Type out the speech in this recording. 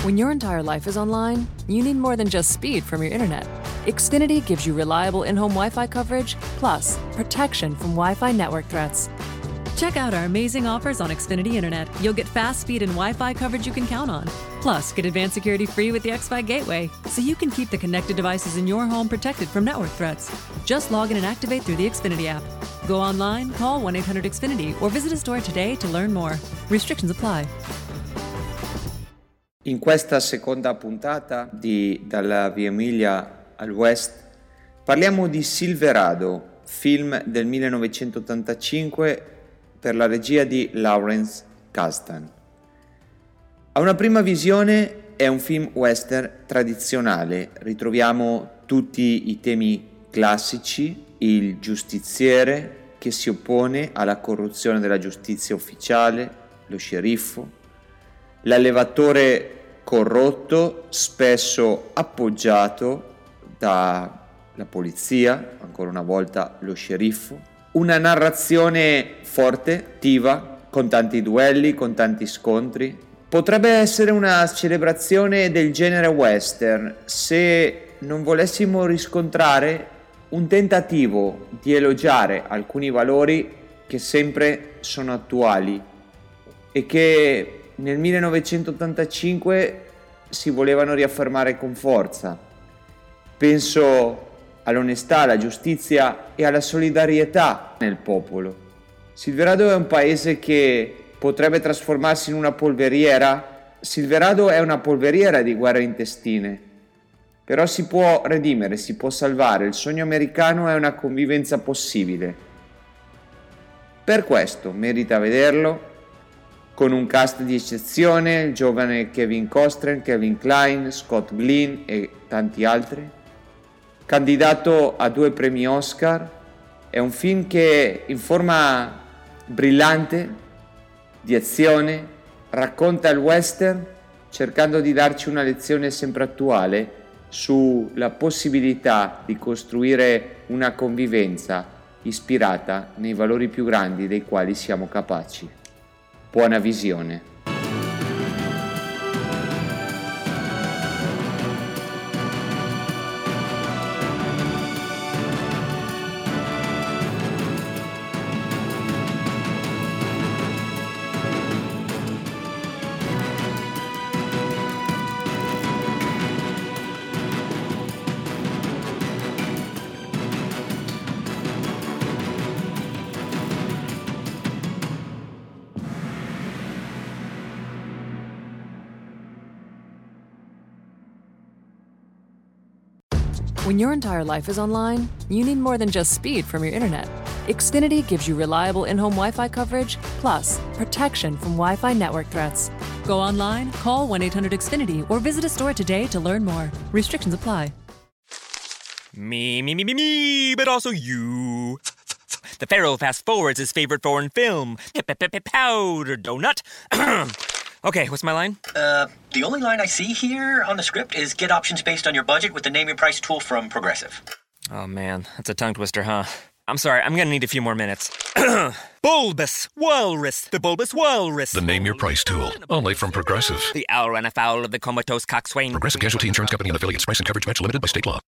When your entire life is online, you need more than just speed from your internet. Xfinity gives you reliable in-home Wi-Fi coverage, plus protection from Wi-Fi network threats. Check out our amazing offers on Xfinity Internet. You'll get fast speed and Wi-Fi coverage you can count on. Plus, get advanced security free with the X-Fi Gateway, so you can keep the connected devices in your home protected from network threats. Just log in and activate through the Xfinity app. Go online, call 1-800-XFINITY, or visit a store today to learn more. Restrictions apply. In questa seconda puntata di Dalla Via Emilia al West parliamo di Silverado, film del 1985 per la regia di Lawrence Kasdan. A una prima visione è un film western tradizionale, ritroviamo tutti i temi classici, il giustiziere che si oppone alla corruzione della giustizia ufficiale, lo sceriffo, l'allevatore corrotto, spesso appoggiato dalla polizia, ancora una volta lo sceriffo, una narrazione forte, attiva, con tanti duelli, con tanti scontri. Potrebbe essere una celebrazione del genere western se non volessimo riscontrare un tentativo di elogiare alcuni valori che sempre sono attuali e che nel 1985 si volevano riaffermare con forza. Penso all'onestà, alla giustizia e alla solidarietà nel popolo. Silverado è un paese che potrebbe trasformarsi in una polveriera. Silverado è una polveriera di guerre intestine, però si può redimere, si può salvare. Il sogno americano è una convivenza possibile. Per questo merita vederlo, con un cast di eccezione, il giovane Kevin Costner, Kevin Kline, Scott Glenn e tanti altri. Candidato a 2 premi Oscar, è un film che in forma brillante, di azione, racconta il western cercando di darci una lezione sempre attuale sulla possibilità di costruire una convivenza ispirata nei valori più grandi dei quali siamo capaci. Buona visione. When your entire life is online, you need more than just speed from your internet. Xfinity gives you reliable in-home Wi-Fi coverage, plus protection from Wi-Fi network threats. Go online, call 1-800-XFINITY, or visit a store today to learn more. Restrictions apply. Me, but also you. The Pharaoh fast forwards his favorite foreign film, Powder Donut. Okay, what's my line? The only line I see here on the script is get options based on your budget with the Name Your Price tool from Progressive. Oh man, that's a tongue twister, huh? I'm sorry, I'm gonna need a few more minutes. Bulbous Walrus, the Bulbous Walrus. The Name Your Price tool, only from Progressive. The owl ran afoul of the comatose coxswain. Progressive Casualty Insurance Company and affiliates. Price and coverage match limited by state law.